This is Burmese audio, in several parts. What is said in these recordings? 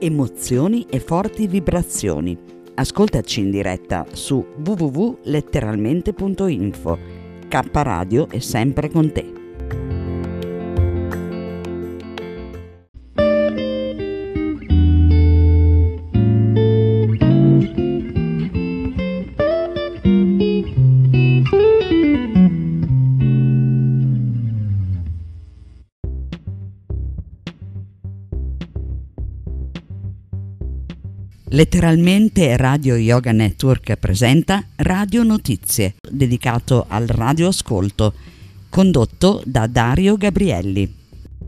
emozioni e forti vibrazioni. Ascoltaci in diretta su www.letteralmente.info. K Radio è sempre con te. Letteralmente Radio Yoga Network presenta Radio Notizie, dedicato al radioascolto, condotto da Dario Gabrielli.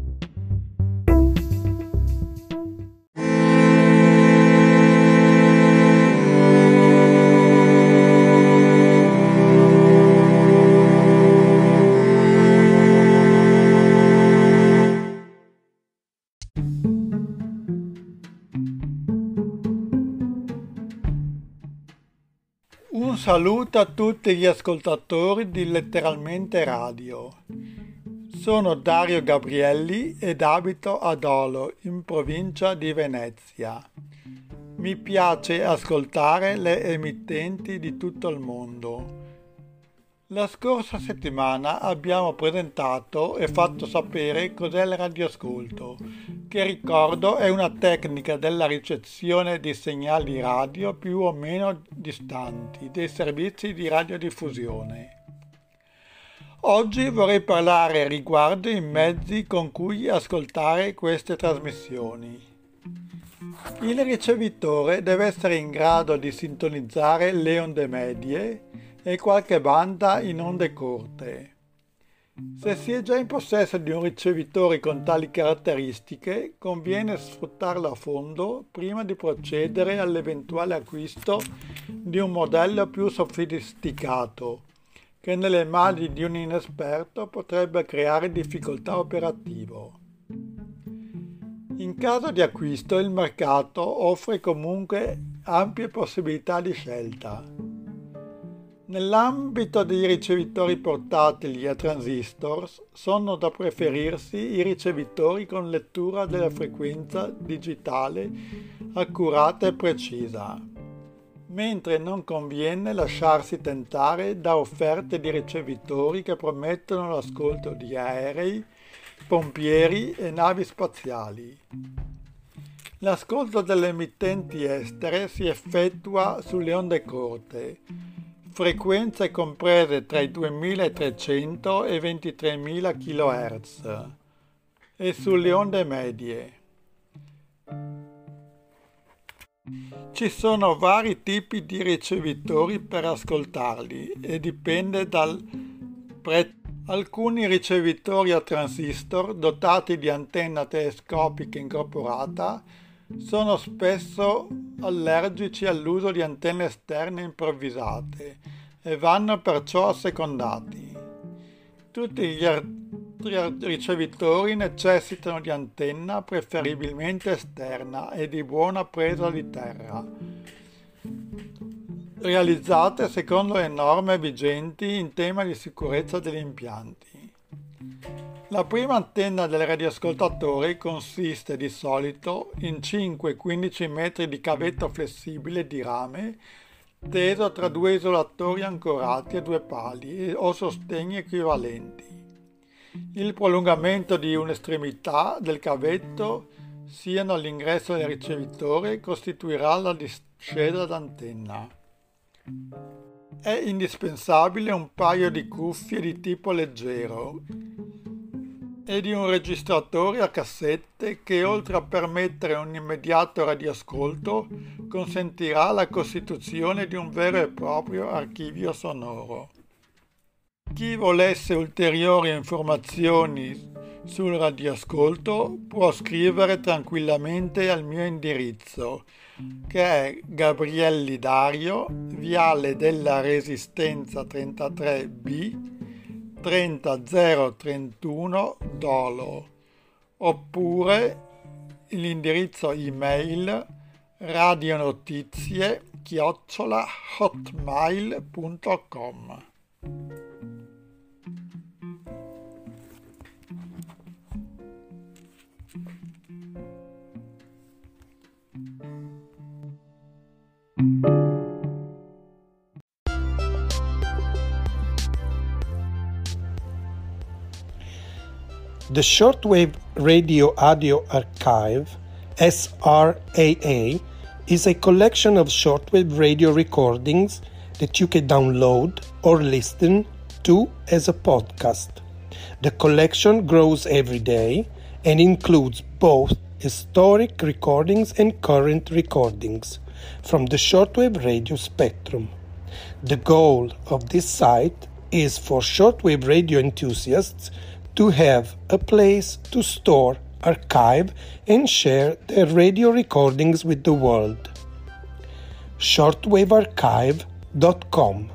Un saluto a tutti gli ascoltatori di Letteralmente Radio. Sono Dario Gabrielli ed abito ad Olo, in provincia di Venezia. Mi piace ascoltare le emittenti di tutto il mondo. La scorsa settimana abbiamo presentato e fatto sapere cos'è il radioascolto, che ricordo è una tecnica della ricezione di segnali radio più o meno distanti dei servizi di radiodiffusione. Oggi vorrei parlare riguardo i mezzi con cui ascoltare queste trasmissioni. Il ricevitore deve essere in grado di sintonizzare le onde medie e qualche banda in onde corte. Se si è già in possesso di un ricevitore con tali caratteristiche, conviene sfruttarlo a fondo prima di procedere all'eventuale acquisto di un modello più sofisticato, che nelle mani di un inesperto potrebbe creare difficoltà operative. In caso di acquisto, il mercato offre comunque ampie possibilità di scelta. Nell'ambito dei ricevitori portatili a transistor sono da preferirsi i ricevitori con lettura della frequenza digitale accurata e precisa, mentre non conviene lasciarsi tentare da offerte di ricevitori che promettono l'ascolto di aerei, pompieri e navi spaziali. L'ascolto delle emittenti estere si effettua sulle onde corte, frequenze comprese tra i 2300 e i 23.000 kHz e sulle onde medie. Ci sono vari tipi di ricevitori per ascoltarli e dipende dal prezzo. Alcuni ricevitori a transistor dotati di antenna telescopica incorporata sono spesso allergici all'uso di antenne esterne improvvisate e vanno perciò assecondati. Tutti gli altri ricevitori necessitano di antenna preferibilmente esterna e di buona presa di terra, realizzate secondo le norme vigenti in tema di sicurezza degli impianti. La prima antenna del radioascoltatore consiste di solito in 5-15 metri di cavetto flessibile di rame teso tra due isolatori ancorati a due pali o sostegni equivalenti. Il prolungamento di un'estremità del cavetto, siano all'ingresso del ricevitore, costituirà la discesa d'antenna. È indispensabile un paio di cuffie di tipo leggero e di un registratore a cassette che, oltre a permettere un immediato radioascolto, consentirà la costituzione di un vero e proprio archivio sonoro. Chi volesse ulteriori informazioni sul radioascolto può scrivere tranquillamente al mio indirizzo, che è Gabrielli Dario, Viale della Resistenza 33B, 30031 Dolo, oppure l'indirizzo email radionotizie@hotmail.com. The Shortwave Radio Audio Archive, SRAA, is a collection of shortwave radio recordings that you can download or listen to as a podcast. The collection grows every day and includes both historic recordings and current recordings from the shortwave radio spectrum. The goal of this site is for shortwave radio enthusiasts to have a place to store, archive, and share their radio recordings with the world. shortwavearchive.com.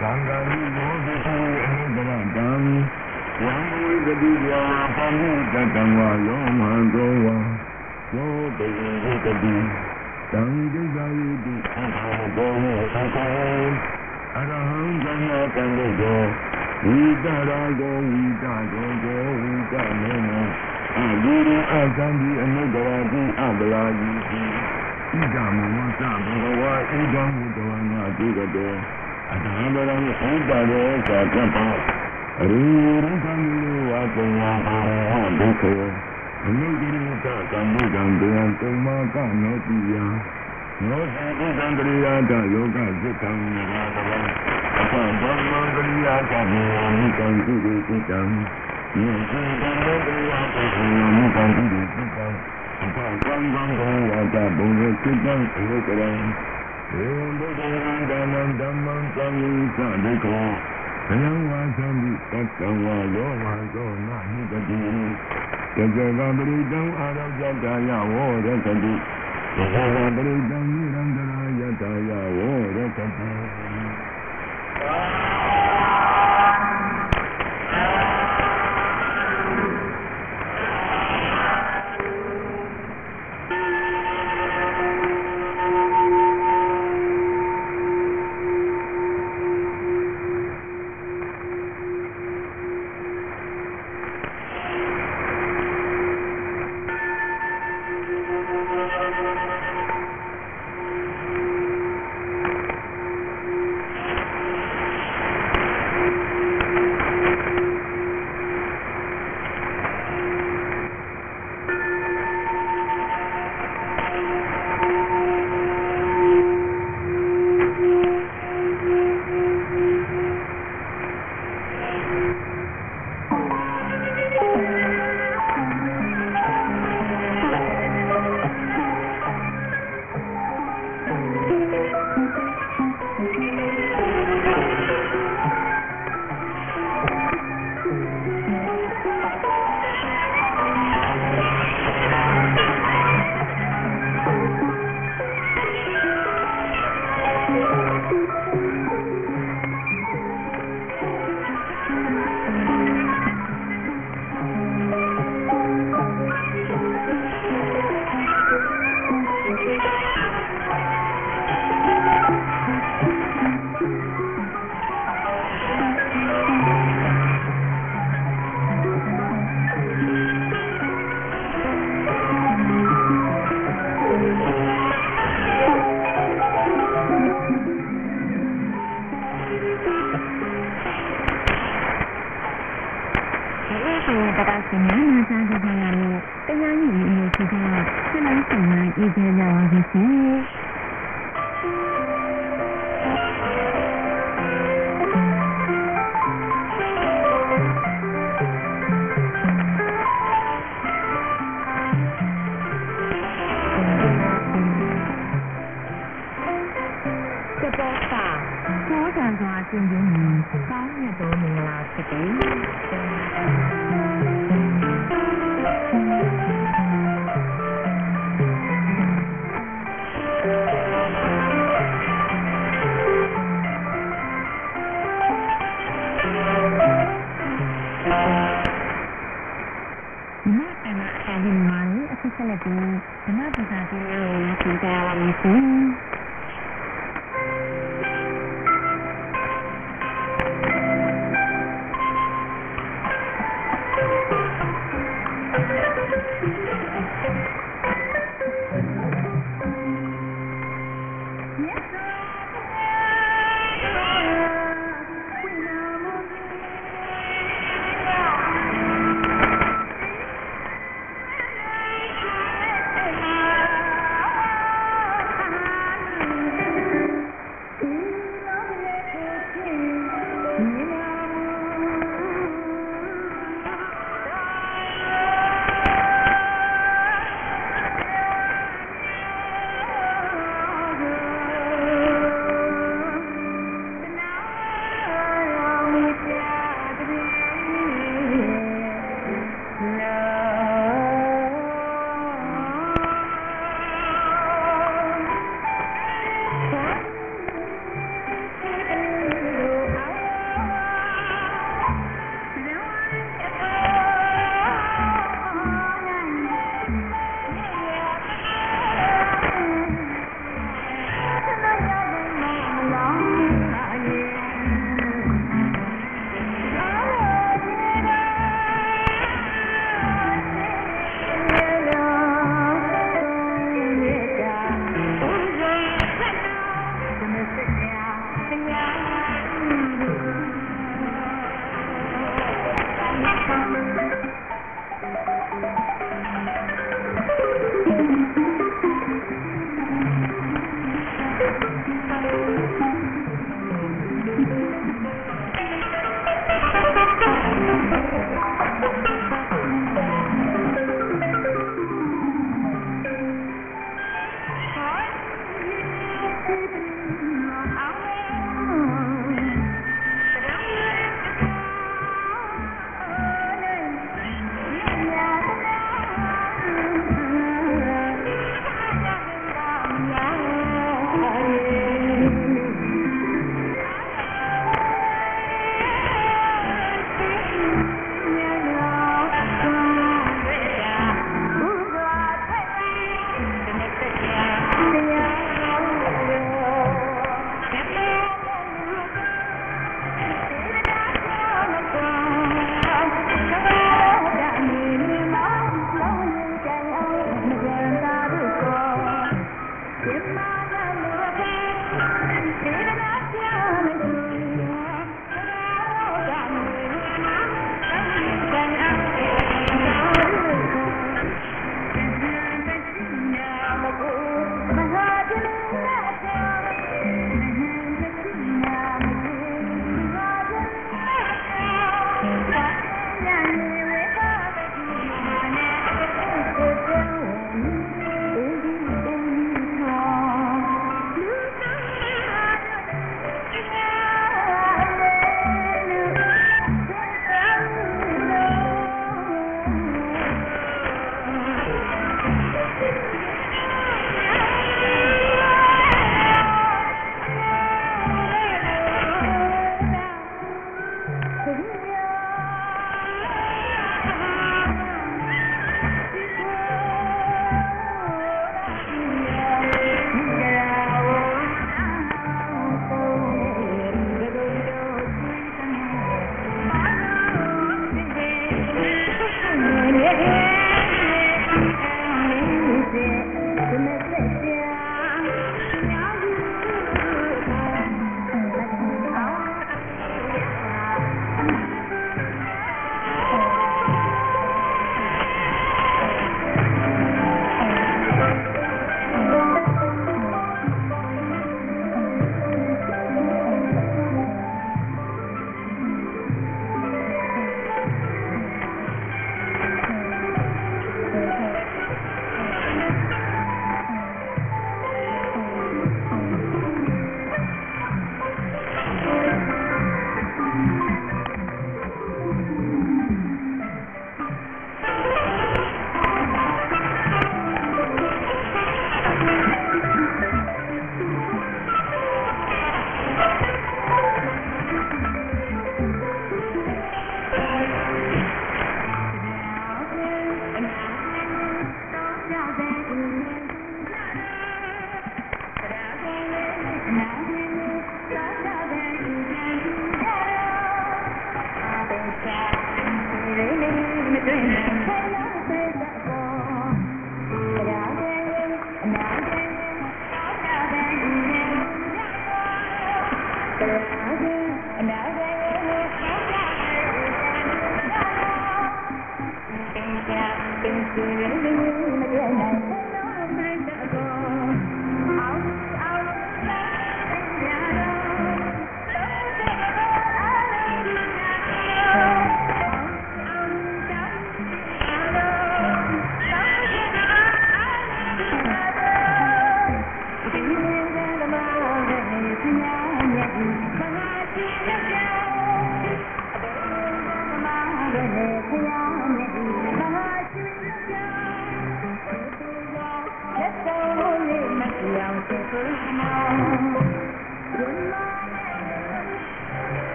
Sangari Yogi Anudaratam Yamui Gadiya Pamutatama Yoma Goa Yoga Gadi Tangi Gadi Anahagoni Sakon Araham Jana Kandago Vidarago Vidarago Vidamono Aguru Azandi Anudarati Abalaji Idamu Masabhawa Idamu Dhavana Digado Adhabaram Udare Sakapa Ruru Kamilu Ataya Dukho Anugirita Kamudandaya Tumaka Notiya Notiya Sandriya Yoga Sitam Niradavam Apamangriya Kamikam Siddhitam Niradavam Kamikam Siddhitam Apamangriya Kamikam Siddhitam Dhammam Samisa Dekho Sayangwa Sambi Tattva Yoma Sona Nikati Tajavabridam Arajataya Vorakati Tajavabridam Nirandarayataya Vorakati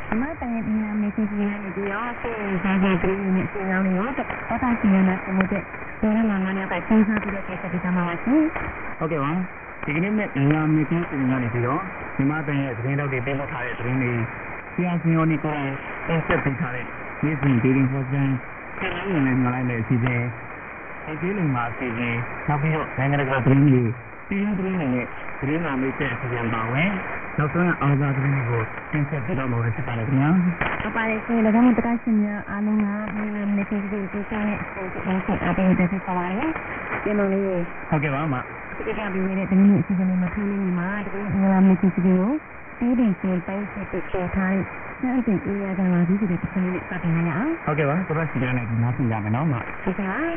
မှာတန်ရည်နာမေစီစီနဲ့ဒီရောဆေးစားကြတဲ့ဒီနေ့စီအောင်လို့တော့တာစီရနာမှုတဲ့ဒေါ်လာငါးနဲ့ပဲစဉ်းစားပြီးတော့ကိစ္စဒီကမှာပါရှင်ဟုတ်ကဲ့ပါဒီကနေ့နဲ့လာမေကင်းစီကနေပြီးတော့ဒီမှာတန်ရဲ့သတင်းတော့တွေပေးလို့ထားတဲ့သတင်းတွေဆရာစင်ရောနီကိုတင်ဆက်ပေးထားတဲ့နေ့စဉ်ဒေးလီဟော့စန်ဆက်လို့လည်းညွှန်လိုက်တဲ့အစီအစဉ်ဒီလိုမှအစီအစဉ်နောက်ပြီးတော့နိုင်ငံတကာသတင်းတွေပြည်တွင်းသတင်းတွေနဲ့သတင်းနာမေးတဲ့အစီအစဉ်ပါဝင်နောက်ဆုံးအားသာသတင်းတွေကိုတင်ဆက်ပေးတော့မှာဖြစ်ပါတယ်ခင်ဗျာဟုတ်ပါတယ်ရှင်ဒါကြောင့်တက္ကသိုလ်များအားလုံးကဒီနေ့ဒီကိစ္စနဲ့ဆက်အပ်တဲ့တက်ဆက်ပါရစေဒီလိုလေးဟုတ်ကဲ့ပါအမဒီကပြီးနေတဲ့သတင်းတွေအစီအစဉ်တွေမှာထိုးနေမှာတကယ်ငါမေးစီစီကိုတီးတင်ရှင်ပိုင်းဆက်ပေးထားတဲ့ဆက်တဲ့အေးရကလာဒီဒီတစ်ခါလေးစတင်ရအောင်ဟုတ်ကဲ့ပါဆိုတော့စီကနေဒီနားပြင်ရမယ်နော်အမဟုတ်ကဲ့ပါ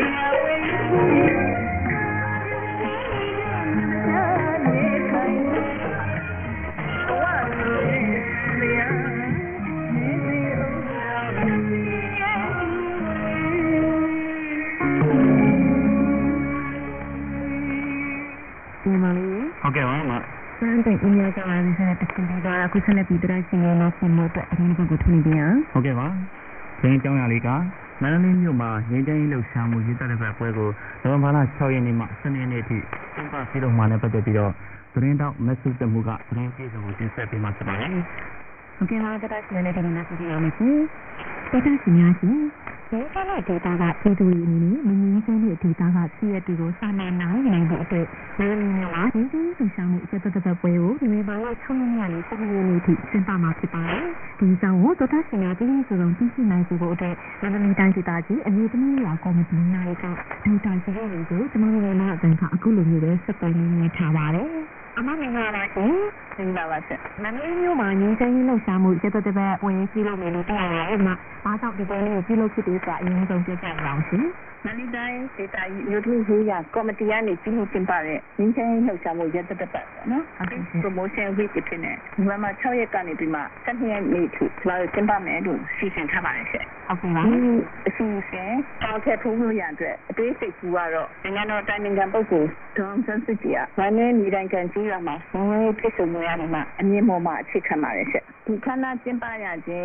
Okay, mama. Santai ini akan saya tekan di aku sana pidra sini nasi motor ini aku tuni dia. Okay, ma. Jangan jauh lagi kah? Mana ni ni ma, ni jangan lu samu kita dapat apa ko. Dalam mana cakap ini mak seni ni ti. Tempat siapa mana pada pidra. Terus tak masuk temuka. Terus kita mungkin saya pergi macam mana. Okay, ma kita sini ni nasi dia mesti. Kita sini nasi. Kalau kita tak itu ini, mungkin kita tak siap itu sama naik naik itu. Lalu mah, ini sama kita tetap boleh. Ini bawa cuma ni, cuma ni sempat masih pakai. Kita kita sini ni sebelum kita naik itu ada. Lalu kita tadi, ini tu ni aku mesti naik ke. Kita sini itu, cuma ni nak tengok aku lebih seperti ni caware. Ama mengapa lagi? Mengapa sih? Nanti ni mah ni saya ni sama kita tetap boleh kilo melu tu lah. Mak, pasal kita ni kilo kita ini tu kita langsung. Nanti kita YouTube juga komedian ni kilo tempat ni saya ni sama kita tetap, no? Promotion week itu ni. Mama cakap kan ni prima. Kan ni tu, sebab tempat melu season apa ni? Okay lah. Season, kalau kita tunggu yang tu, basic dua ro. Dengan orang ni kan bagus. Dalam sensitif. Mana ni orang kan Rama, semua itu semua ni mak, ni mama cakap macam. Bukan nak jumpa yang je,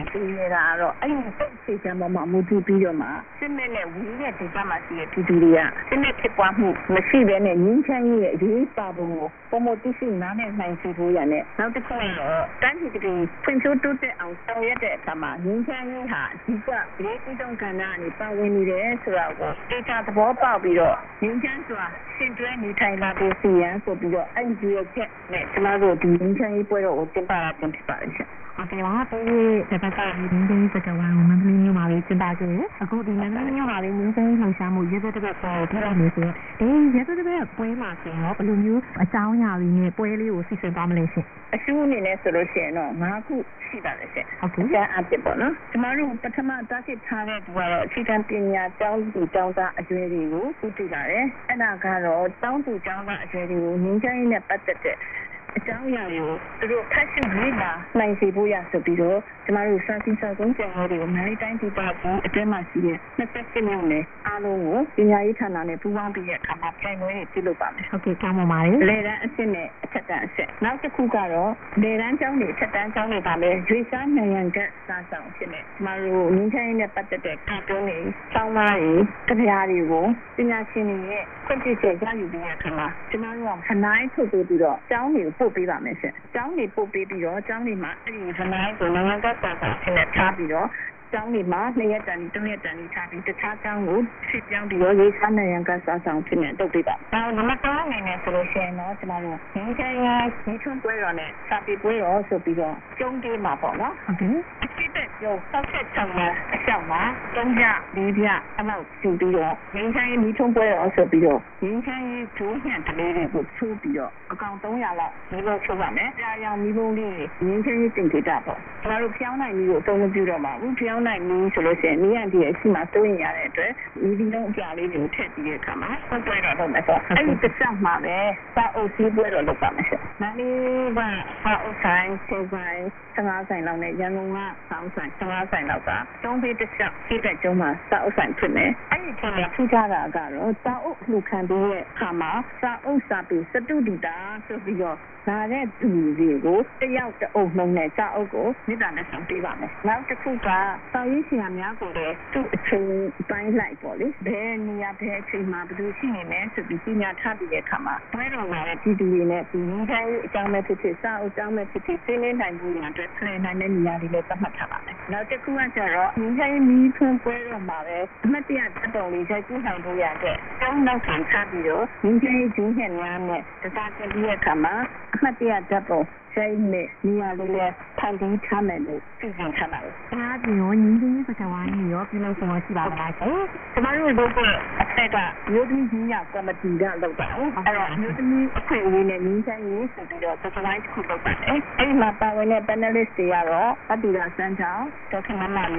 dia ro. Ayuh, saya mama muda biar mak. Sebenarnya dia cakap macam itu dia. Sebenarnya cakap mesti benar ni cakap dia baru. Komoditi mana yang siapa yang ni. Nanti kalau kan kita pencu tu awal saya tu sama. Ni cakap jika dia tidak kena ni bawa ni dia suruh. Kita tu bawa biar. Ni cakap sebenarnya ni Thailand tu siapa so biar. Dia cakap ni selalu di ni cakap boleh jumpa jumpa. Okay, wah, tapi sebentar ini kita orang mungkin malu cerita je. Aku di mana ni malu mungkin kalau sama je tu dapat pergi ni tu. Je tu dapat pergi masih. Belum you jauhnya ni pergi usi sebab Malaysia. Asyik ni solusi no. Aku siapa sih? Okay. Saya apa pun no. Semalam pertama tadi cakap dua kita punya jauh di jauh dah asyik itu itu dah. Enak kalau jauh tu jauh dah asyik itu. Mungkin ini betul. Jauh yang itu, terus kasih mereka naik sebuah yang sebiro, semalam sahaja sahaja jauh itu, mari tanya tiba itu masih, nak kasih mana? Alu, ini itu nane buang biar kamar kain itu lupa. Okay, kamu mari. Leran sini, catatan sini. Nanti kukaro, leran jauh ni, catatan jauh ni tapi, juisan yang ke sasau sini. Semalam ni saya ni pada kartu ni, jauh mari, kerja itu, ini sini, kunci kerja itu biar kamar. Semalam naik tu biro, jauh ni. 不俾吧咩先？將你不俾咗，將你買，你係咪做兩個價格先係差別咗？將你買你一陣，中一陣你差別，就差將我是將啲我啲三兩個價上先係都俾吧。但係咁講你呢solution咯，就係咯，你睇下你從貴咗呢，差別貴咗就比較中啲麻煩咯。OK。記得有收出層嘅小馬、中價、低價，咁啊就比較，你睇你從貴咗就比較，你睇主線特別個出比較，我講東亞啦，你個出話咩？家樣你冇呢，你睇整體大噃，假如漂亮你有東個比較嘛，唔漂亮你solution你樣啲起碼都一樣嘅，對，你啲東家裏面特別嘅嘛，我貴咗都唔錯，哎，個上馬咧，把歐西貴咗都唔錯，那你話把歐山、西山、上亞山樓呢，人工啊，上山、上亞山樓噶，東邊的上基本上嘛，上歐山出呢，哎，出嚟出家啦噶咯，上歐路看啲嘅，係嘛，上歐上邊濕度啲大，所以個。那咧住嘅個，一有就澳門咧揸澳個，你當然上邊話咩？然後就佢話，到以前係咪一個咧，都從擺嚟過咧，譬如你啊，譬如佢嘛，不如先嘅咩，就比較有差別嘅看嘛。擺落嚟咧，啲啲咧，比以前將咩譬如沙澳將咩譬如四年代唔一樣，對，四年代你啊啲咧怎麼差別咧？然後就佢話就係，以前你從擺落嘛咧，乜啲啊得到你在經常都有嘅，將到反差別咗，以前經常啱嘅，就大家啲嘢看嘛。乜啲啊，就部所以你啊，你咧睇啲差咪嚟，最近差咪。啊，我已經不就話你我邊度送我試下啦。咁啊，如果係個有啲錢啊，咁咪自己လုပ်到。係咯，有啲佢會咧，年輕人食啲咯，就係買佢လုပ်到。誒，嘛，但係咧，本來你試下咯，我哋就想找，就聽媽媽要。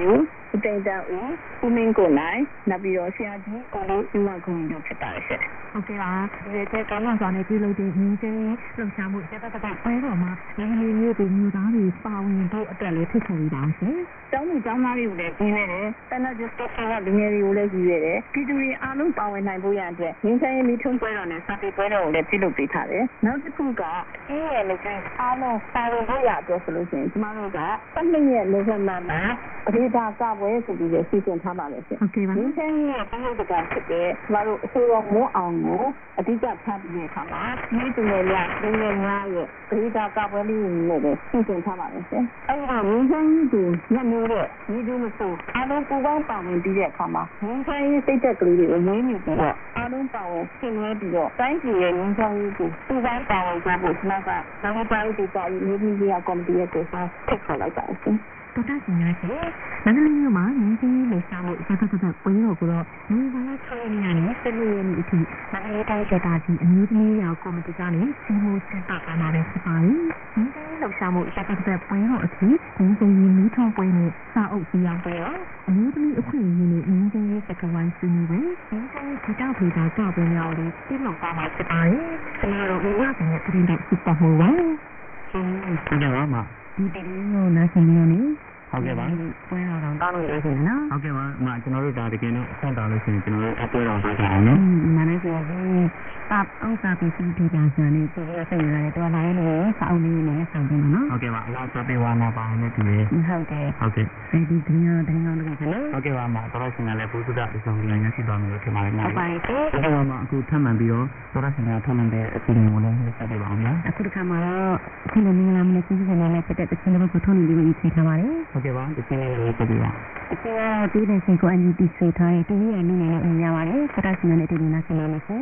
ဦးတိန်တန်ဦးမင်းကိုနိုင်နောက်ပြီးတော့ဆရာကြီးကိုလေးဦးဝခုံတို့ဖြစ်ပါတယ်ရှင်ဟုတ်ကဲ့ပါဒီတဲ့ကောင်းကောင်းစွာနဲ့ပြုလုပ်တဲ့ညီချင်းလှုပ်ရှားမှုတက်တက်ပွဲတော်မှာလူမျိုးတွေမျိုးသားတွေပါဝင်ဖို့အတွက်လည်းဖြစ်ပေါ်နေတာရှင်ကျောင်းသူကျောင်းသားတွေကိုလည်းကြီးနေတယ်တနက်ကျတော့လူငယ်တွေကိုလည်းကြီးရတယ်ပြည်သူတွေအားလုံးပါဝင်နိုင်ဖို့ရတဲ့ညီချင်းမိထုံးပွဲတော်နဲ့စာပေပွဲတော်ကိုလည်းပြုလုပ်ပေးထားတယ်နောက်တစ်ခုကအေးရလူကြီးအားလုံးပါဝင်ဖို့ရအတွက်ဆိုလို့ရှိရင်ကျမတို့က12ရက်နိုဝင်ဘာမှာပရိဒါကပွဲဆိုပြီးစီစဉ်ထားပါလေရှင်ဟုတ်ကဲ့ပါညီချင်းရဲ့ပြည်သူကဖြစ်တဲ့ကျမတို့အစိုးရမိုးအောင်ကိုအဓိကဖတ်ပြီးတဲ့အခါမှာဒီသူငယ်များလူငယ်များရဲ့ပရိဒါကပွဲလေးနဲ့လည်းစီစဉ်ထားပါလေရှင်အဲ့ဒါညီချင်းကြီးညမျိုးတဲ့ညီသူမဆိုအားလုံးပူပေါင်းပါဝင်ပြီးတဲ့အခါမှာညီချင်းစိတ်သက်ကလေးတွေကိုမွေးမြူပြီးတော့အားလုံးပါဝင်ဆင်နွှဲပြီးတော့တိုင်းပြည်ရဲ့ညီချင်းကြီးကိုပူပေါင်းပါဝင်ကြဖို့ကျွန်တော်ကနောက်ပိုင်းဒီကနေ့ဒီကြီးကော်မတီရဲ့ကိုစားထည့်ခေါ်လိုက်ပါရှင်တော်တော်ရှင်များရှင်မန္တလေးမြို့မှာညီချင်းလှူရှားမှုဆက်ဆက်ပွဲတော်ကိုတော့ဒီဘာသာချေနေရတဲ့စနေနေ့အထိမန္တလေးတိုင်းဒေသကြီးအမျိုးသမီးရောကော်မတီကနေစီမံစတာကနာတဲ့စပိုင်းညီချင်းလှူရှားမှုဆက်ဆက်ပွဲတော်အထိညီချင်းမီးထုံးပွဲနဲ့စာအုပ်စီအောင်ပွဲတော်အမျိုးသမီးအခွင့်အရေးနဲ့ညီချင်းရဲ့စကားဝိုင်းဆွေးနွေးပွဲညီချင်းဒီတောက်ဖေတာကပွဲများလေးပြည်လုံးပါမှာဖြစ်ပါတယ်ကျွန်တော်တို့ဘဝနဲ့ပြည်တဲ့စုပေါ်ဟောပါရှင်ကြပါမှာဒီတည်းကိုနားဆင်နေနေဟုတ်ကဲ့ပါပွဲတော်တောင်းလို့ရရှင်နော်ဟုတ်ကဲ့ပါအမကျွန်တော်တို့ဒါတကယ်တော့ဆက်တော်လို့ရှိရင်ကျွန်တော်တို့အပွဲတော်ထားကြအောင်နော်မနက်ကျရင်တပ်အောင်စားပြီးဒီပြန်စနေဒီရစိတ်ရတယ်တော်လာရင်လည်းစောင်းနေနေဆောင်တယ်နော်ဟုတ်ကဲ့ပါအလားဆိုပေးဝါနာပါနဲ့တူရဟုတ်တယ်ဒီကနေ့တော့နော်ဟုတ်ကဲ့ပါအမတော်ရှင်ကလည်းဘုရားအဆောင်ကြီးရရှိတော်မူလို့ထင်ပါတယ်နော်ဟုတ်ပါတယ်ဟုတ်ကဲ့ပါအခုထပ်မှန်ပြီးတော့တော်ရှင်ကထပ်မှန်တဲ့အစီအစဉ်ကိုလည်းဆက်ပေးပါအောင်နော်အခုတစ်ခါမှာတော့ဒီလိုမျိုးလာမလို့စီစဉ်နေတဲ့အတဲ့ချင်းတွေကိုထုံးနေပြီးပြီးချိန်ထားပါတယ်ဟုတ်ကဲ့ပါဒီချင်းလေးကိုဆက်ပေးပါအခုဒီတဲ့ချင်းကိုအန်ယူတီဆွေထားတဲ့ဒီရဲ့နည်းနဲ့အများပါတယ်တော်ရှင်နဲ့တူတူနာဆင်နေမယ်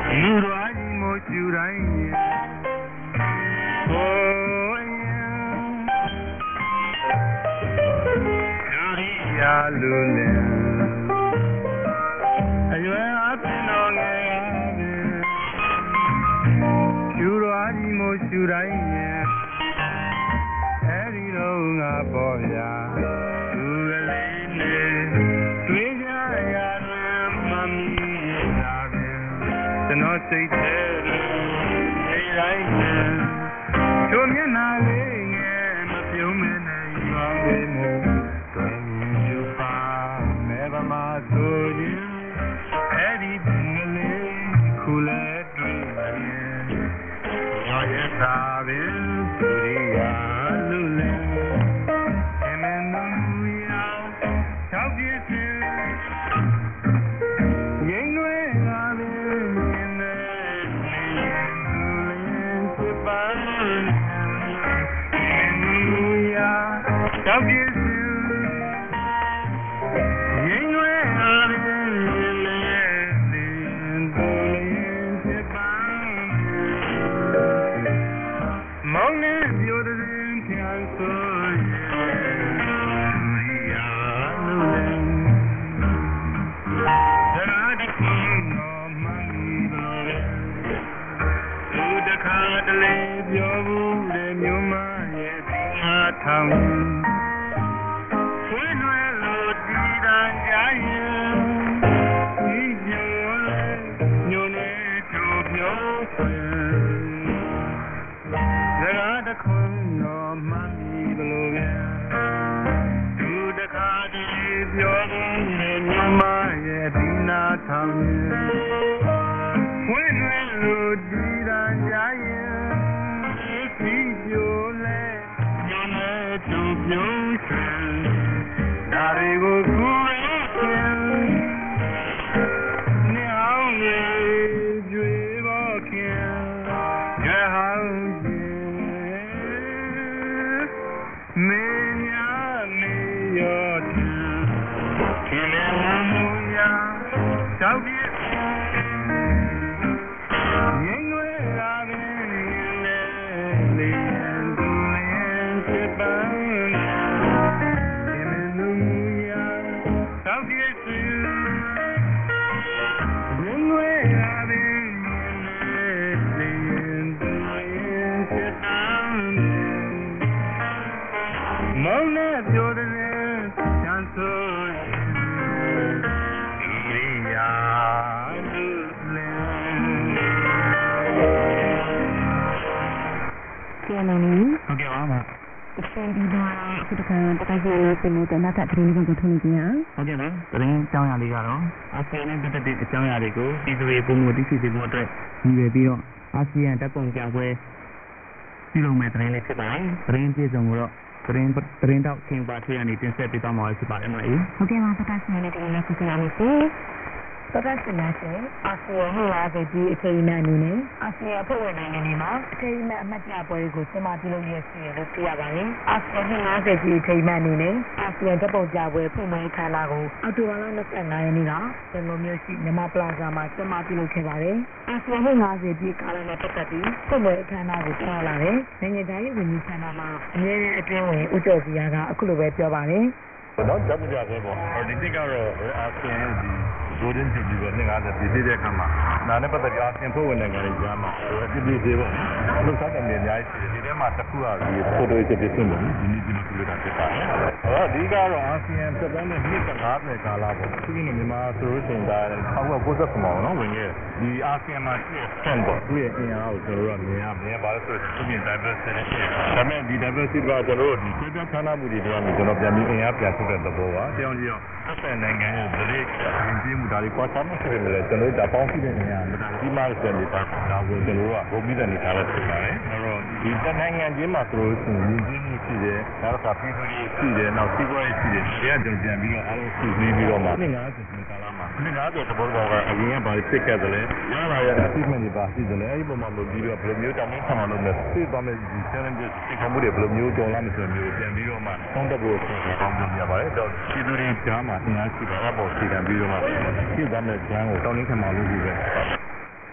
Golden Jubilee 50ပြည့်တဲ့အခါမှာနာနဲ့ပတ်သက်ပြီးအပြင်ဖွဲ့ဝင်နိုင်ငံတွေကြားမှာပြည့်သေးပေါ့လှုပ်ရှားတဲ့နေရာရှိတယ်ဒီထဲမှာတစ်ခုကဒီဖိုတိုရေးပြည့်စုံတယ်ဒီနေ့ဒီမှာပြတာဖြစ်ပါတယ်အဓိကတော့အာဆီယံသက်တမ်းနဲ့နှစ်50ကာလပေါ့သူကမြန်မာဆိုလို့ရှိရင်ဒါ1990မှာနော်ဝင်ခဲ့ဒီအာဆီယံမှာရှိတဲ့ stand ပေါ့သူရဲ့အင်အားကိုကျွန်တော်တို့ကမြင်ရပါလို့ဆိုတော့သူပြင် diversity ဒါပေမဲ့ဒီ diversity ကကျွန်တော်တို့ဒီပြည်ပခန္ဓာမှုတွေတော့ကျွန်တော်ပြန်ပြီးအင်အားပြန်ထုတ်တဲ့သဘောပါတောင်းကြည့်အောင်အဆက်နိုင်ငံရဲ့ဒလိရင်ကျင်းမှုဒါတွေကွာခြားမှုဖြစ်နေတယ်ကျွန်တော်တို့ဒါပေါင်းကြည့်တဲ့နေရာမှာဒီမှာစတဲ့နေတာဒါကိုကျွန်တော်တို့ကဘုံပြီးတဲ့နေရာလေးဖြစ်ပါတယ်အဲ့တော့ဒီနိုင်ငံချင်းမှာဆိုလို့ရှိရင်ရင်ကျင်းမှုရှိတယ်နောက်တစ်ခါပြည်သူတွေရှိတယ်နောက်စီးပွားရေးရှိတယ်တရားကြုံပြန်ပြီးတော့အားလုံးစုစည်းပြီးတော့မှ50ကာလမှာ50သဘောတော်ကအရင်ကဘာဖြစ်ခဲ့တယ်လဲရလာရတဲ့ achievement တွေပါရှိတယ်လေအဲ့ဒီပုံမှာလို့ပြီးတော့ဘယ်လိုမျိုးတောင်းခံမှလုပ်လဲသိသွားမယ်ဒီ challenges ဒီကမှုတွေဘယ်လိုမျိုးကြော်လာမဆိုမျိုးပြန်ပြီးတော့မှသုံးသပ်ဖို့ဆောင်းပြရပါတယ်တော့ပြည်သူတွေကြားမှာအင်အားရှိတာအပေါ်စီကံပြီးတော့မှသိသွားမယ်ကျန်းကိုတောင်းခံမှလုပ်ပြီးပဲ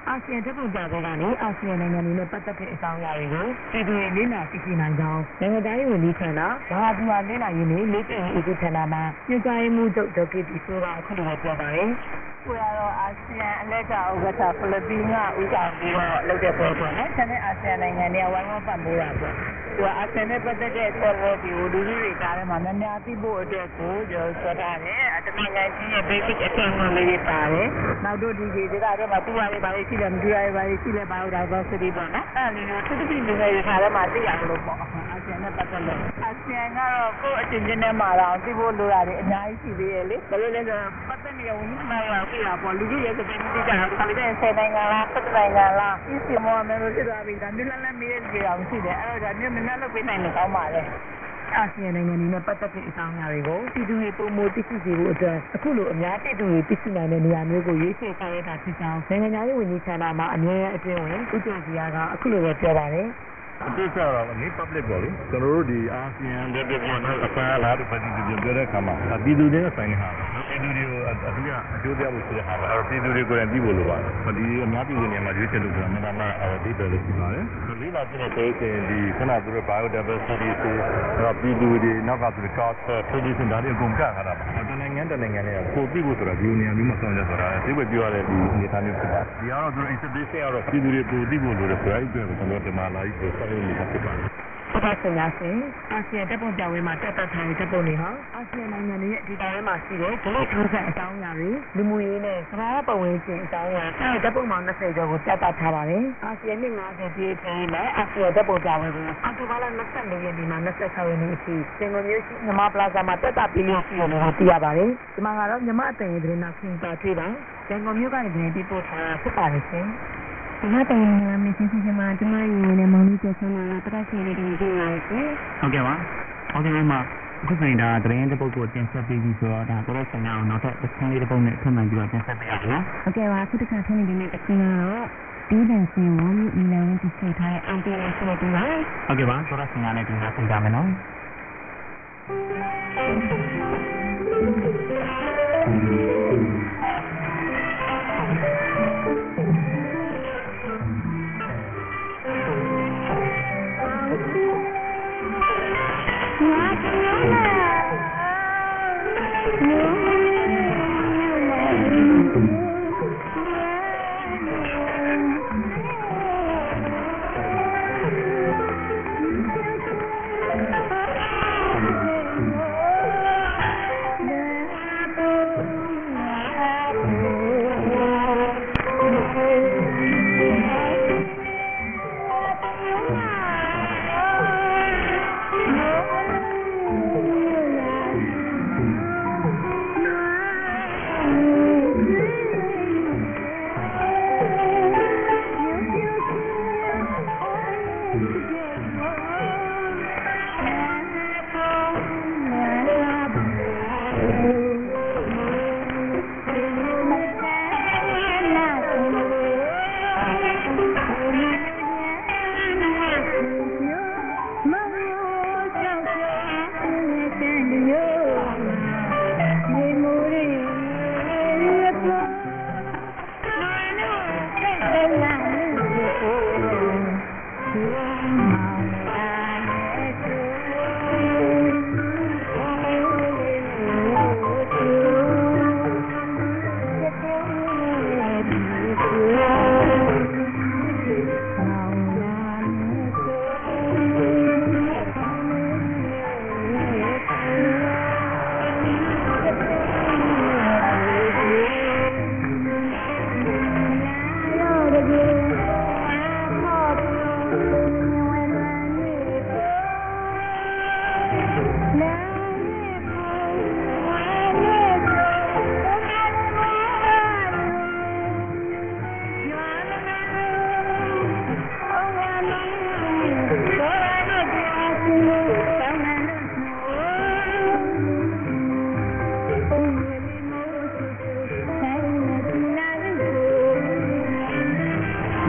အာဆီယံတပ်ပုံကြတဲ့ကနေအာဆီယံနိုင်ငံတွေနဲ့ပတ်သက်တဲ့အကြောင်းအရာတွေကိုပြည်သူတွေလေ့လာသိရှိနိုင်ကြောင်းနိုင်ငံသားရေးဝန်ကြီးဌာနဘာဟာဒီဝါလေ့လာရေးနဲ့လေ့ကျင့်ရေးဦးစီးဌာနမှညွှန်ကြားရေးမှူးချုပ်ဒေါက်တာတီဆိုကအခုလိုပြောပါတယ်။ကိုရတော့အာဆီယံအလက်ကဥက္ကဋ္ဌဖိလစ်ပင်းကဦးဆောင်ပြီးတော့လုပ်တဲ့ပွဲပေါ့နော်။ဆက်တဲ့အာဆီယံနိုင်ငံတွေကဝိုင်းဝန်းပံ့ပိုးတာပေါ့။သူကအာဆီယံနဲ့ပတ်သက်တဲ့ဆော်ဝဲဒီကိုလူကြီးတွေကြားထဲမှာများများသိဖို့အတွက်ကိုပြောထားတယ်။တမန်နိုင်ငံကြီးရဲ့ basic အထင်မှန်လေးတွေပါတယ်။နောက်တို့ဒီဒေသတွေမှာသူ့ရည်ပါလေးရှိတယ်မသူရည်ပါလေးရှိလဲ biodiversity ပေါ့နော်။အဲ့ဒီလိုသူတိလူငယ်တွေထားထဲမှာသိရလို့ပေါ့။အာဆီယံနဲ့ပတ်သက်လို့အာဆီယံကတော့ကိုယ့်အချင်းချင်းနဲ့မှာတော့သိဖို့လိုတာတွေအများကြီးရှိသေးတယ်လေ။ဘာလို့လဲဆိုတော့ပတ်သက်နေဝင်မှန်းရောက်ပြတာပေါ့လူကြီးရဲ့စပင်းတိကျတာခါလေးတဲ့10နိုင်ငံလား7နိုင်ငံလားဒီစီမောမယ်လို့ဖြစ်သွားပြီဒါမျိုးလည်းမေးရကြအောင်ရှိတယ်အဲ့တော့ဒါမျိုးမနှက်လုပ်ပေးနိုင်လို့ကောင်းပါလေအာဆီယံနိုင်ငံတွေနဲ့ပတ်သက်တဲ့အကြောင်းအရာတွေကိုပြည်သူတွေပုံမသိရှိစေဖို့အတွက်အခုလိုအများပြည်သူတွေသိရှိနိုင်တဲ့နေရာမျိုးကိုရွေးချယ်ဆောင်ရွက်တာဖြစ်ကြောင်းနိုင်ငံရေးဝန်ကြီးဌာနမှအမြဲအကျဉ်းဝင်ဦးကျော်စီကအခုလိုပဲပြောပါတယ်အတိအကျတော့ဒီ public ပေါ့လေကျွန်တော်တို့ဒီအာဆီယံတဲ့ပြည်နော်အဖာလာတဲ့ပြည်သူတွေပြောတဲ့အခါမှာပြည်သူတွေဆိုင်နေတာပြည်သူတွေကိုအထူးအကျိုးပြဖို့ဆိုတဲ့ဟာပါအဲ့ပြည်သူတွေကိုယ်တိုင်ပြီးဖို့လိုပါတယ်ဒီအများပြည်သူတွေမှာရွေးချယ်လို့ဆိုတာမှန်မှန်ဒီတယ်လို့ပြောပါတယ်လေးလာပြတဲ့ဒေသဒီခဏသူတို့ biodiversity ဆိုပြည်သူတွေနောက်ကသူ culture tradition ဒါတွေအကုန်ကထားတာပါတနိုင်ငံနဲ့ကိုပြီးဖို့ဆိုတာဒီနေရာမျိုးမှာဆောင်ရွက်ဆိုတာသိပဲပြောရတဲ့ဒီအနေအထားမျိုးဖြစ်ပါတယ်ဒီကတော့သူ exhibition ကတော့ပြည်သူတွေကိုပြီးဖို့လိုတယ်ဆိုတဲ့အတွက်ကျွန်တော်ဒီမှာလာပြီးဆိုဆောင်ရွက်နေတာဖြစ်ပါတယ်ပတ်သက်များစဉ်အာဆီယံတပ်ပုံပြပွဲမှာတက်တက်ထိုင်တပ်ပုံတွေဟာအာဆီယံနိုင်ငံတွေရဲ့ဒီတိုင်းမှာရှိတဲ့ဒလိထိုးဆက်အကြောင်းအရာတွေလူမှုရေးနဲ့သဘာဝပတ်ဝန်းကျင်အကြောင်းအရာတပ်ပုံမှာ20ကျော်ကိုပြသထားပါတယ်။အာဆီယံနှစ်50ပြည့်ထဲမှာအာဆီယံတပ်ပုံပြပွဲကိုအောက်တိုဘာလ24ရက်နေ့မှ26ရက်နေ့အထိစင်ကာပူမြို့ရှိမြမပလာဇာမှာတက်တာပြီးလို့ရှိတယ်လို့သိရပါတယ်။ဒီမှာကတော့မြမအတန်ရဲ့သတင်းနောက်ခင်ပါတွေ့ပါစင်ကာပူမြို့ကနေသတင်းပေးပို့ထားဖြစ်ပါတယ်ရှင်။ဒီမှာတင်လာမယ့်စီစဉ်မှာဒီမှာရင်းနဲ့မောင်လေးကျဆန်းလာတက်ရှိနေတယ်ဒီမှာရှင်ဟုတ်ကဲ့ပါဟုတ်ကဲ့ပါအခုဆိုရင်ဒါသတင်းတစ်ပုဒ်ကိုတင်ဆက်ပေးပြီးဆိုတော့ဒါကိုယ်ဆိုင်အောင်နောက်ထပ်တစ်ခန်းလေးတစ်ပုဒ်နဲ့ထပ်မံပြီးတော့တင်ဆက်ပေးရအောင်ဟုတ်ကဲ့ပါအခုတစ်ခါထပ်နေတဲ့တစ်ခန်းကတော့ဒီတန်စင်ဝမ်းမြီလန်တီစိတ်ထားတဲ့အန်တီနဲ့ဆိုတော့ဒီမှာဟုတ်ကဲ့ပါဆိုတော့ဆင်ရနဲ့ဒီမှာပြင်ကြမယ်နော်ဟ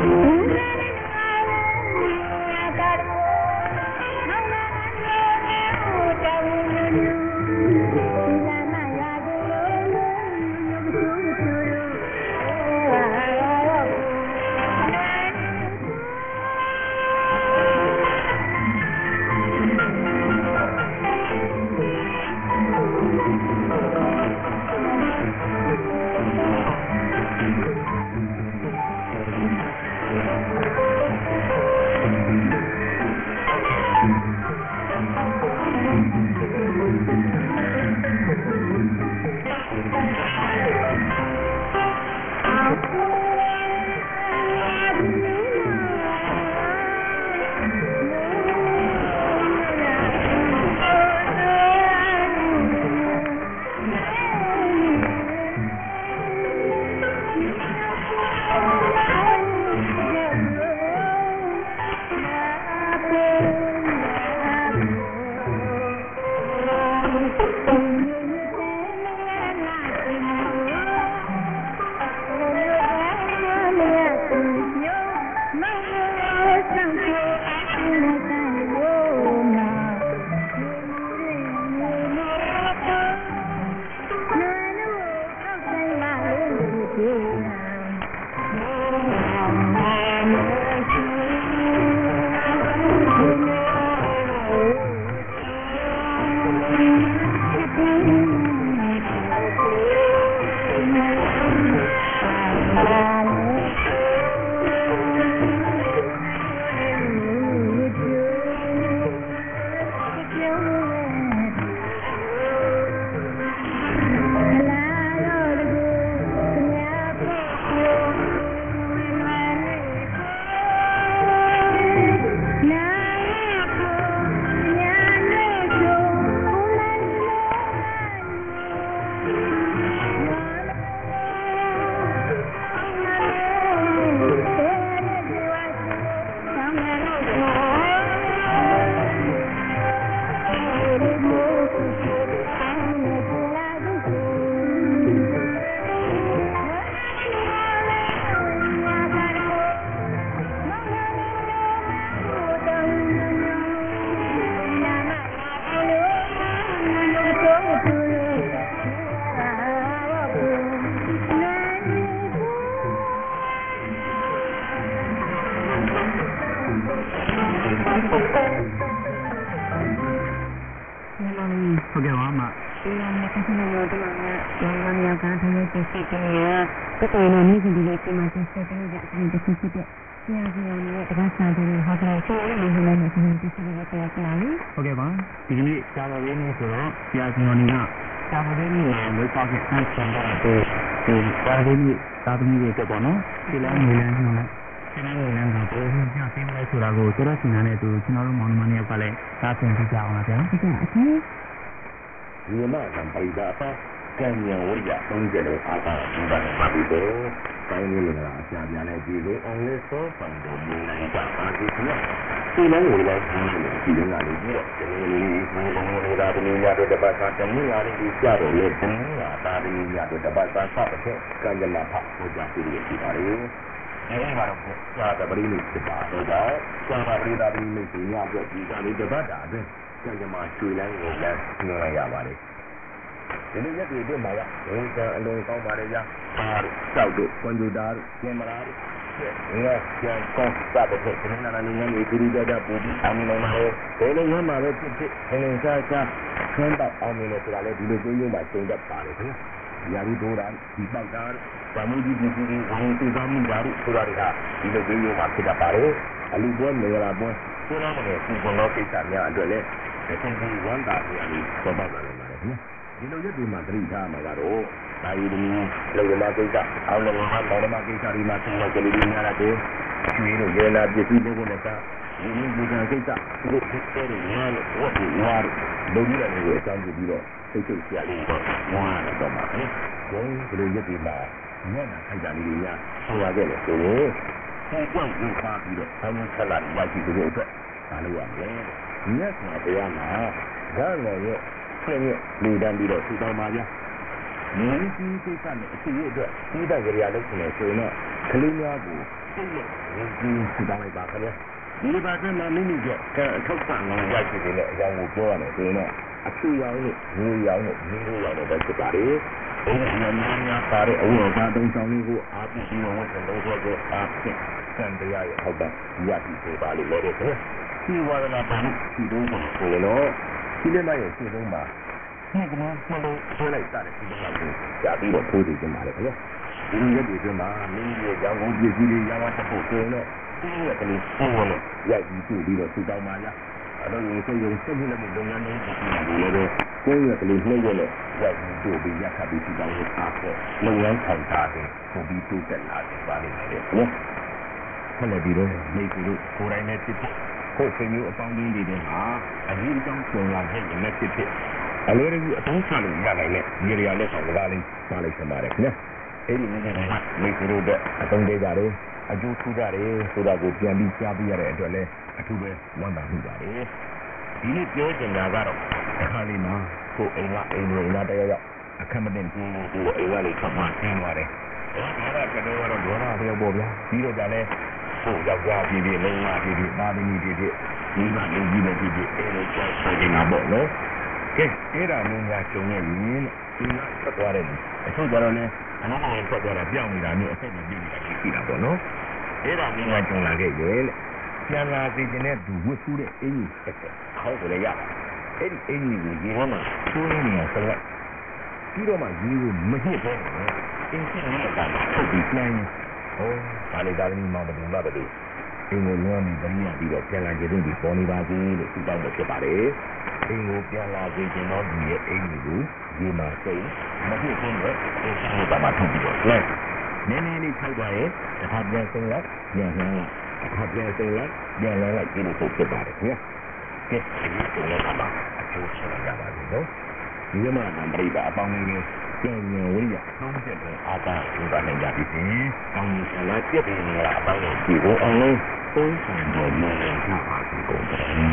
ဒါကတော့ဒေါသပြောပေါ့ဗျာပြီးတော့ကြလဲကိုယောက်ျားဖြစ်ဖြစ်မိန်းမဖြစ်ဖြစ်သားသမီးဖြစ်ဖြစ်ဒီမှာလူကြီးနဲ့ဖြစ်ဖြစ်အဲလိုကြောက်နေတာပေါ့နော်ကဲအဲ့ဒါမျိုးများကျုံနေပြီဒီမှာထွက်သွားတယ်အခုကျတော့လဲအနားထွက်သွားတာပြောင်းနေတာမျိုးအဆက်မပြေးနေတာရှိတာပေါ့နော်အဲ့ဒါမျိုးများကျုံလာခဲ့ရဲ့လေပြန်လာစီခြင်းနဲ့သူဝတ်ဖူးတဲ့အင်ကြီးတစ်ချက်ခေါင်းကိုလည်းရအဲ့ဒီအင်ကြီးကိုရေထဲမှာထိုးနေရဆက်လိုက်ပြီးတော့မှရေကိုမဟစ်ပဲအင်းချင်းနဲ့တာထုတ်ပြီးနှိုင်းဟောဒါလေဒါသမီးမောင်ဘယ်လိုလဲအင်းကိုလွှမ်းပြီးတရိယာပြီးတော့ပြန်လာကြတဲ့ဒီပေါ်နေပါစေလို့သူတောင်းလို့ဖြစ်ပါတယ်အင်းကိုပြန်လာစေခြင်းတော့ဒီရဲ့အင်းကိုရေမှာစိတ်မဟစ်ဘူးတော့အင်းချင်းကမှထုတ်ပြီးတော့လဲနည်းနည်းလေးထိုက်သွားရဲ့တစ်ခါပြန်စိတ်လိုက်ပြန်လှမ်းလိုက်တစ်ခါပြန်စိတ်လိုက်ပြန်လှမ်းလိုက်ဒီလိုဖြစ်ပါတယ်ခင်ဗျာကဲဒီလိုလည်းပါအကျိုးရှိရပါလိမ့်နော်ဒီမှာအမေရိကအပေါင်းကြီးပြန်ရင်ဝိရသုံးချက်နဲ့အာသာယူပါနိုင်ကြပြီ။ကောင်းကြီးဆလာပြည့်နေရအပေါင်းကြီးကိုအောင်လုံးသုံးဆောင်တော့မှလည်းဟာပါကုန်တယ်။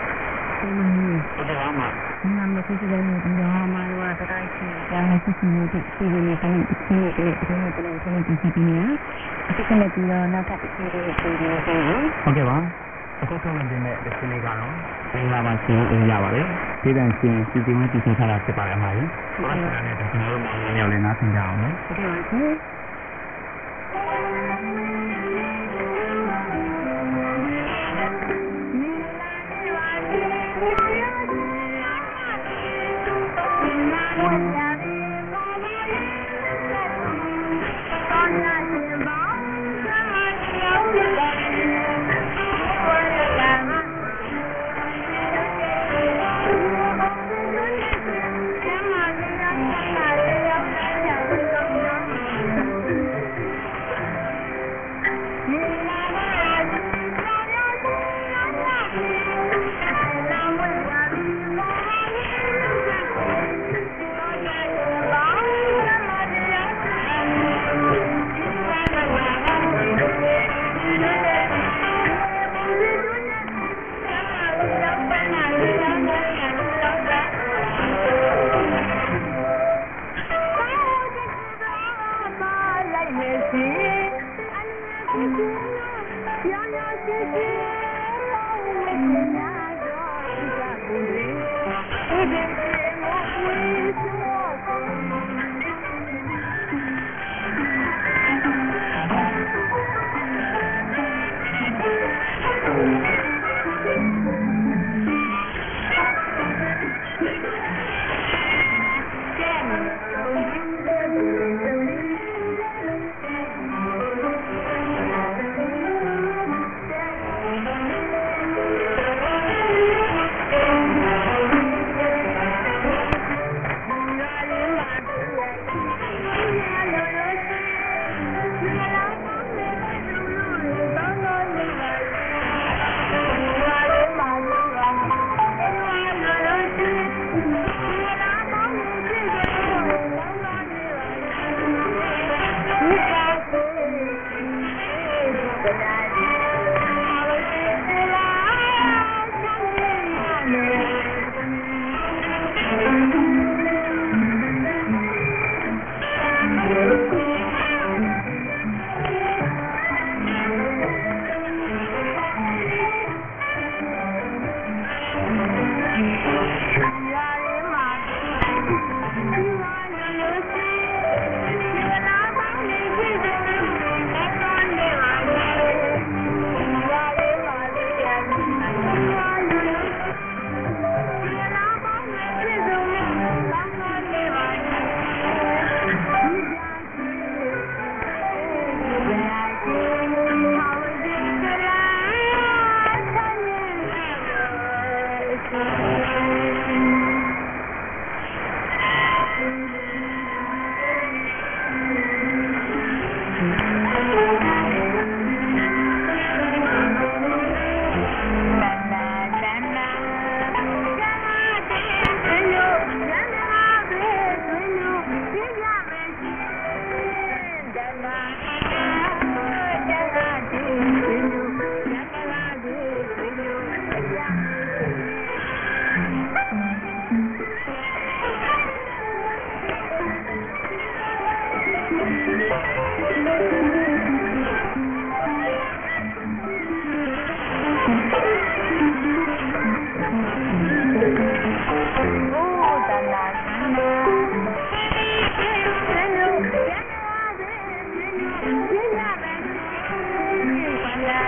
ဒါမှနာမည်ကြီးတဲ့နေရာမှာတော့တိုင်းစီကလည်းစီစီနေတိုင်းစီနေတယ်ဒီလိုတိုင်းစီနေတယ်အခုကလည်းဒီတော့နောက်ထပ်စီနေတယ်ဟုတ်ကဲ့ပါအခုဆုံးနေတဲ့ဒီနေ့ကတော့မင်္ဂလာပါရှင်အင်ရပါတယ်ဒီတန်ရှင်စီစီမတီစီထားတာဖြစ်ပါတယ်အမကြီးဟုတ်ကဲ့နဲ့ကျွန်တော်တို့မောင်လေးယောက်လည်းနားဆင်ကြအောင်နော်ဟုတ်ကဲ့ပါရှင်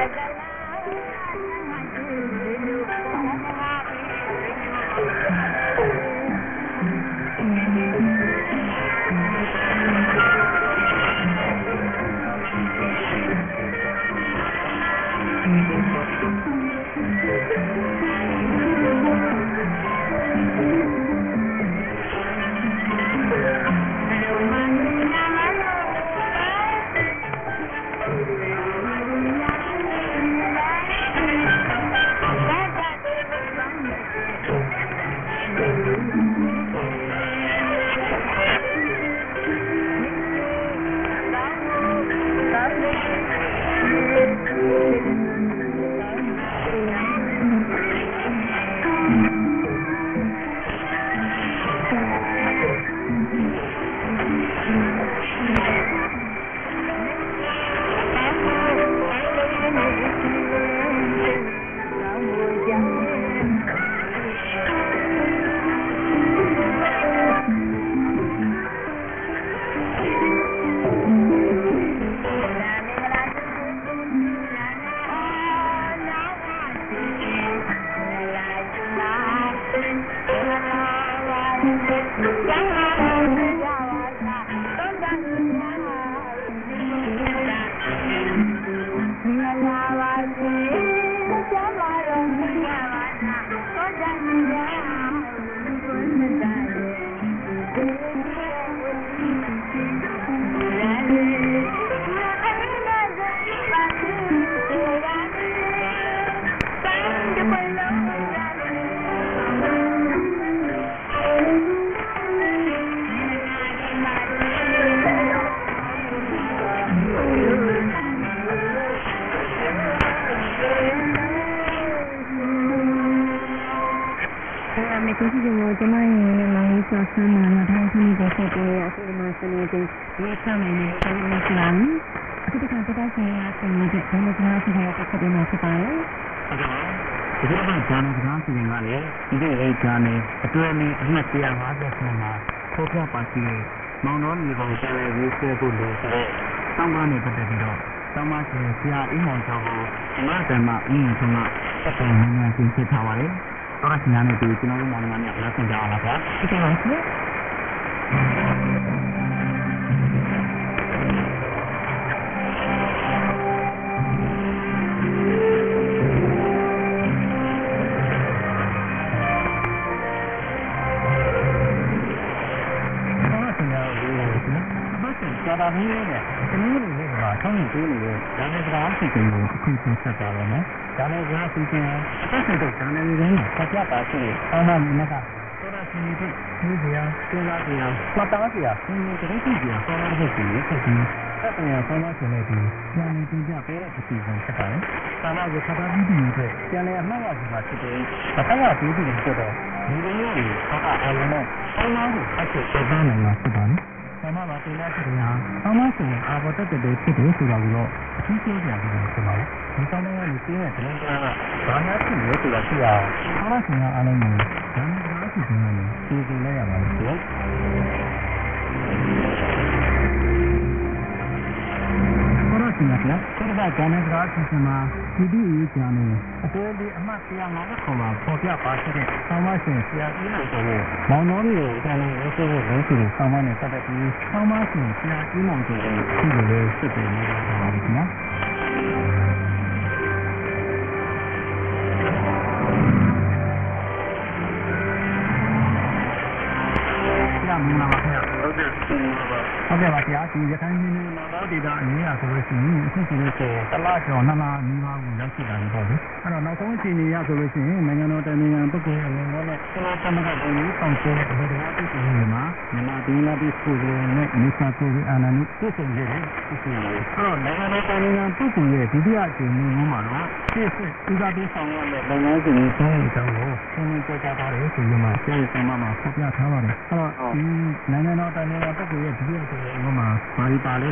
Bari pale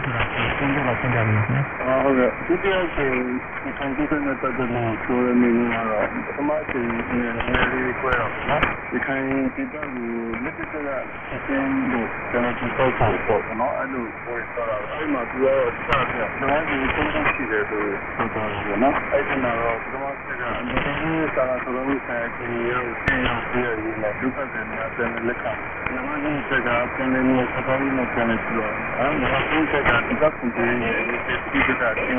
သုံးခုလောက်ရှင်းပြပေးပါခင်ဗျာဟုတ်ကဲ့ဒီတရားရှင်ဒီခံကြည့်တဲ့ပတ်သက်လို့ဆိုရမင်းကတော့ပထမချိန်နဲ့လေးခွဲတော့နော်ဒီခံဒီတော့လက်တက်ကအချင်းတို့ကျွန်တော်ဒီပေါ့ပေါ့နော်အဲ့လိုပြောတော့အဲ့မှာသူကတော့စတာကျွန်တော်ဒီသုံးခုရှိတယ်ဆိုတော့နော်အဲ့ဒီမှာတော့ပထမချက်ကအမြဲတမ်းစာလာဆိုလို့ဆိုင်ချင်းရောဆင်းရောပြည့်ရည်နဲ့ဒုက္ခတွေနဲ့အတဲ့လက်ကနမကြီးစကားပြန်နေလို့စကားလေးနဲ့ပြန်နေပြီးတော့အဲ့ဒါကဆုံးချက်ကဒီကကွန်တီနဲ့ဒီကတာချင်း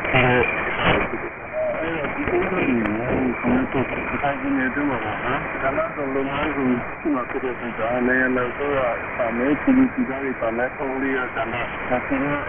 ဒီလိုမျိုးဆန္ဒတော့ခိုင်းနေတယ်မှာနော်ဒါမှတော့လုံးဝကိုဒီမှာဖြစ်တဲ့ကြာလည်းလည်းဆိုတော့အမေကြီးကြီးသားတွေပါလဲပုံလေးရတာနဲ့ဒါကလည်း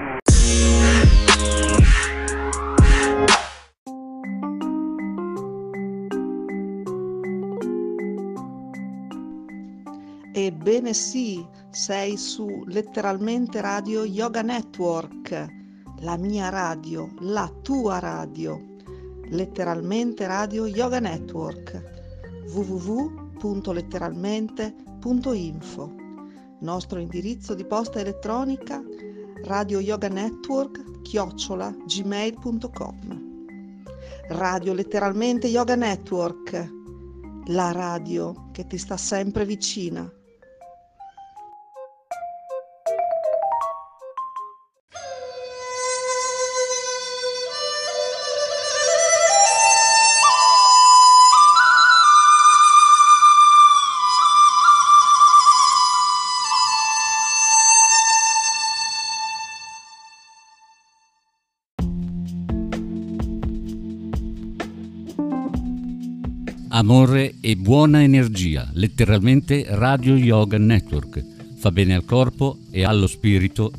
Ebbene sì, sei su letteralmente Radio Yoga Network, la mia radio, la tua radio, letteralmente Radio Yoga Network, www.letteralmente.info, nostro indirizzo di posta elettronica radioyoganetwork@gmail.com. Radio Letteralmente Yoga Network, la radio che ti sta sempre vicina. Amore e buona energia, letteralmente Radio Yoga Network. Fa bene al corpo e allo spirito.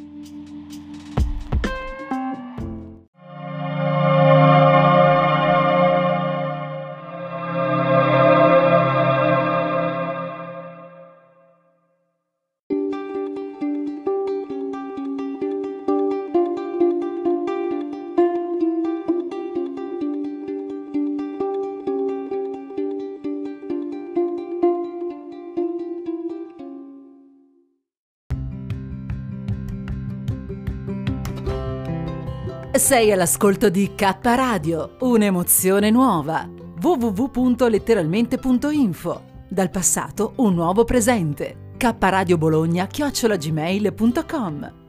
Sei all'ascolto di K Radio, un'emozione nuova. www.letteralmente.info. Dal passato un nuovo presente. kradiobologna@gmail.com.